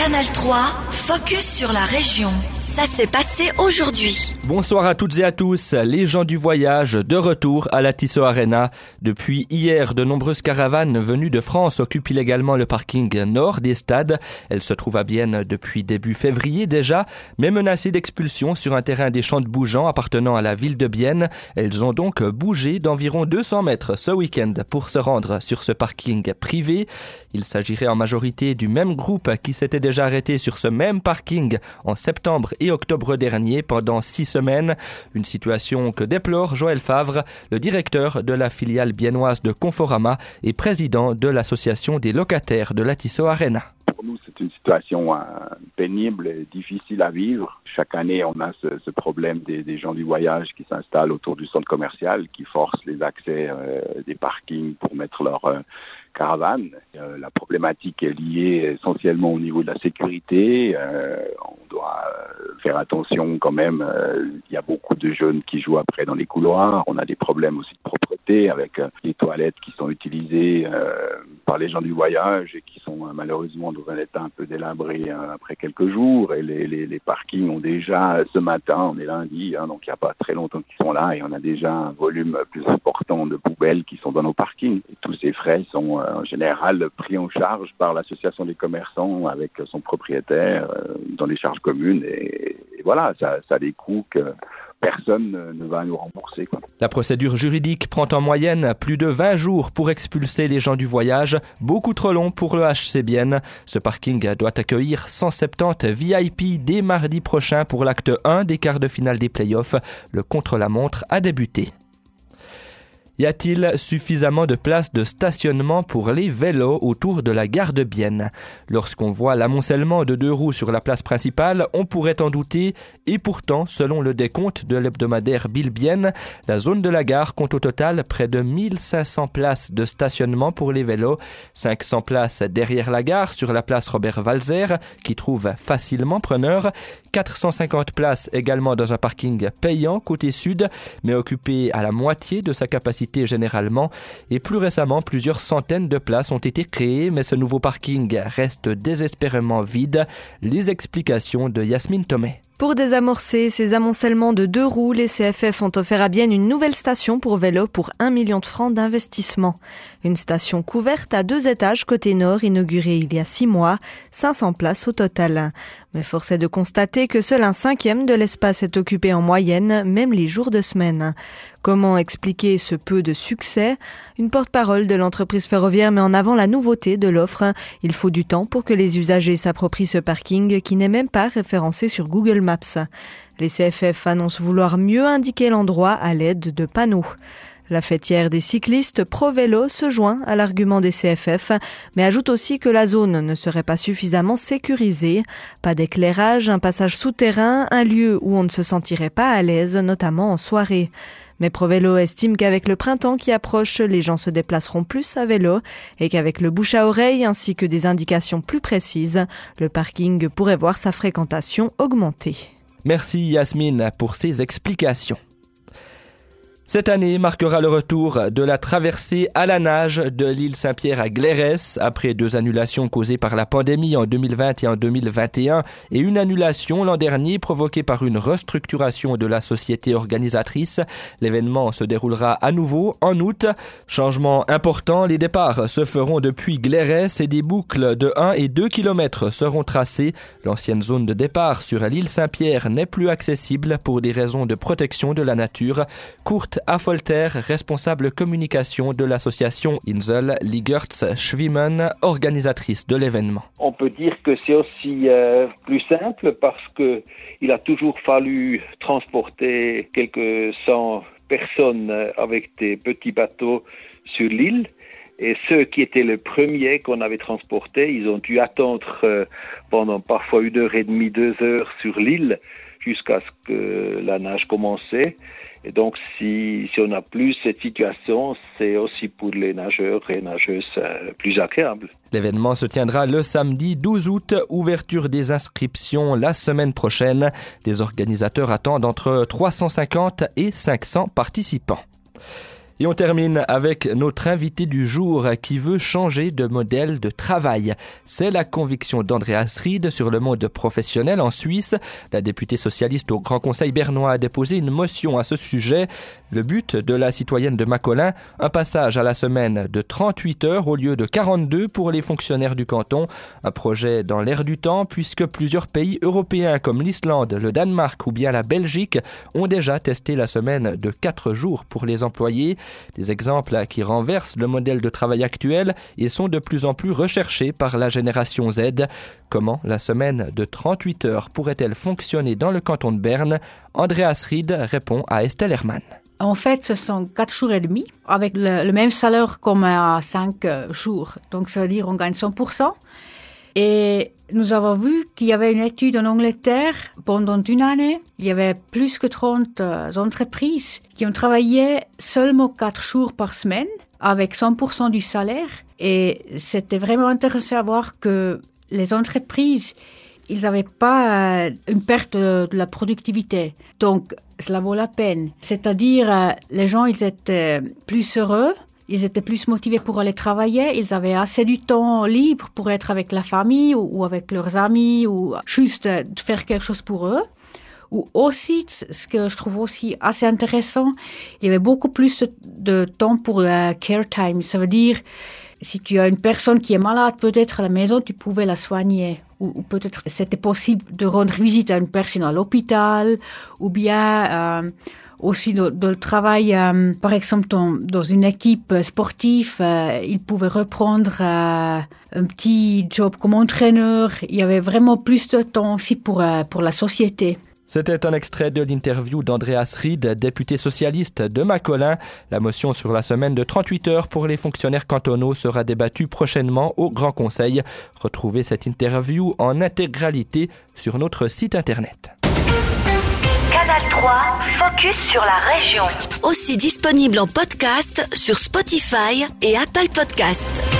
Canal 3, focus sur la région. Ça s'est passé aujourd'hui. Bonsoir à toutes et à tous, les gens du voyage de retour à la Tissot Arena. Depuis hier, de nombreuses caravanes venues de France occupent illégalement le parking nord des stades. Elles se trouvent à Bienne depuis début février déjà, mais menacées d'expulsion sur un terrain des Champs de Bougeant appartenant à la ville de Bienne. Elles ont donc bougé d'environ 200 mètres ce week-end pour se rendre sur ce parking privé. Il s'agirait en majorité du même groupe qui s'était déjà arrêté sur ce même parking en septembre et octobre dernier pendant 6 semaines. Une situation que déplore Joël Favre, le directeur de la filiale biennoise de Conforama et président de l'association des locataires de la Tissot Arena. Pour nous, c'est une situation pénible et difficile à vivre. Chaque année, on a ce problème des gens du voyage qui s'installent autour du centre commercial, qui forcent les accès des parkings pour mettre leur caravane. La problématique est liée essentiellement au niveau de la sécurité. On doit faire attention quand même. Il y a beaucoup de jeunes qui jouent après dans les couloirs. On a des problèmes aussi de propreté avec les toilettes qui sont utilisées par les gens du voyage et qui sont malheureusement dans un état un peu délabré après quelques jours. Et les parkings ont déjà, ce matin, on est lundi, donc il n'y a pas très longtemps qu'ils sont là et on a déjà un volume plus important de poubelles qui sont dans nos parkings. Et tous ces frais sont en général pris en charge par l'association des commerçants avec son propriétaire dans les charges communes. Et voilà, ça a des coûts que personne ne va nous rembourser, quoi. La procédure juridique prend en moyenne plus de 20 jours pour expulser les gens du voyage, beaucoup trop long pour le HC Bienne. Ce parking doit accueillir 170 VIP dès mardi prochain pour l'acte 1 des quarts de finale des playoffs. Le contre-la-montre a débuté. Y a-t-il suffisamment de places de stationnement pour les vélos autour de la gare de Bienne? Lorsqu'on voit l'amoncellement de 2 roues sur la place principale, on pourrait en douter. Et pourtant, selon le décompte de l'hebdomadaire Bill Bienne, la zone de la gare compte au total près de 1500 places de stationnement pour les vélos. 500 places derrière la gare sur la place Robert-Walzer, qui trouve facilement preneur. 450 places également dans un parking payant côté sud, mais occupé à la moitié de sa capacité généralement, et plus récemment plusieurs centaines de places ont été créées, mais ce nouveau parking reste désespérément vide. Les explications de Yasmine Thomé. Pour désamorcer ces amoncellements de 2 roues, les CFF ont offert à Bienne une nouvelle station pour vélo pour 1 million de francs d'investissement. Une station couverte à 2 étages côté nord, inaugurée il y a 6 mois, 500 places au total. Mais force est de constater que seul 1/5 de l'espace est occupé en moyenne, même les jours de semaine. Comment expliquer ce peu de succès? Une porte-parole de l'entreprise ferroviaire met en avant la nouveauté de l'offre. Il faut du temps pour que les usagers s'approprient ce parking qui n'est même pas référencé sur Google Maps. Les CFF annoncent vouloir mieux indiquer l'endroit à l'aide de panneaux. La fêtière des cyclistes Pro-Vélo se joint à l'argument des CFF, mais ajoute aussi que la zone ne serait pas suffisamment sécurisée. Pas d'éclairage, un passage souterrain, un lieu où on ne se sentirait pas à l'aise, notamment en soirée. Mais Pro-Vélo estime qu'avec le printemps qui approche, les gens se déplaceront plus à vélo et qu'avec le bouche à oreille ainsi que des indications plus précises, le parking pourrait voir sa fréquentation augmenter. Merci Yasmine pour ces explications. Cette année marquera le retour de la traversée à la nage de l'île Saint-Pierre à Glérès, après 2 annulations causées par la pandémie en 2020 et en 2021 et une annulation l'an dernier provoquée par une restructuration de la société organisatrice. L'événement se déroulera à nouveau en août. Changement important, les départs se feront depuis Glérès et des boucles de 1 et 2 km seront tracées. L'ancienne zone de départ sur l'île Saint-Pierre n'est plus accessible pour des raisons de protection de la nature. Courte Affolter, responsable communication de l'association Insel Ligertz-Schwimmen, organisatrice de l'événement. On peut dire que c'est aussi plus simple parce que il a toujours fallu transporter quelques 100 personnes avec des petits bateaux sur l'île. Et ceux qui étaient les premiers qu'on avait transportés, ils ont dû attendre pendant parfois 1h30, 2 heures sur l'île jusqu'à ce que la nage commençait. Et donc, si on n'a plus cette situation, c'est aussi pour les nageurs et nageuses plus agréable. L'événement se tiendra le samedi 12 août, ouverture des inscriptions la semaine prochaine. Les organisateurs attendent entre 350 et 500 participants. Et on termine avec notre invité du jour qui veut changer de modèle de travail. C'est la conviction d'Andreas Ried sur le monde professionnel en Suisse. La députée socialiste au Grand Conseil bernois a déposé une motion à ce sujet. Le but de la citoyenne de Macolin, un passage à la semaine de 38 heures au lieu de 42 pour les fonctionnaires du canton. Un projet dans l'air du temps puisque plusieurs pays européens comme l'Islande, le Danemark ou bien la Belgique ont déjà testé la semaine de 4 jours pour les employés. Des exemples qui renversent le modèle de travail actuel et sont de plus en plus recherchés par la génération Z. Comment la semaine de 38 heures pourrait-elle fonctionner dans le canton de Berne? Andreas Ried répond à Estelle Hermann. En fait, ce sont 4 jours et demi avec le même salaire comme à 5 jours. Donc, ça veut dire qu'on gagne 100%. Et nous avons vu qu'il y avait une étude en Angleterre pendant une année. Il y avait plus que 30 entreprises qui ont travaillé seulement 4 jours par semaine avec 100% du salaire. Et c'était vraiment intéressant à voir que les entreprises, ils n'avaient pas une perte de la productivité. Donc, cela vaut la peine. C'est-à-dire, les gens, ils étaient plus heureux. Ils étaient plus motivés pour aller travailler. Ils avaient assez du temps libre pour être avec la famille ou avec leurs amis ou juste faire quelque chose pour eux. Ou aussi, ce que je trouve aussi assez intéressant, il y avait beaucoup plus de temps pour care time. Ça veut dire, si tu as une personne qui est malade, peut-être à la maison, tu pouvais la soigner. Ou peut-être c'était possible de rendre visite à une personne à l'hôpital ou bien... aussi de le travail, par exemple, dans une équipe sportive, il pouvait reprendre un petit job comme entraîneur. Il y avait vraiment plus de temps aussi pour la société. C'était un extrait de l'interview d'Andreas Ried, député socialiste de Macolin. La motion sur la semaine de 38 heures pour les fonctionnaires cantonaux sera débattue prochainement au Grand Conseil. Retrouvez cette interview en intégralité sur notre site internet. Canal 3, focus sur la région. Aussi disponible en podcast sur Spotify et Apple Podcasts.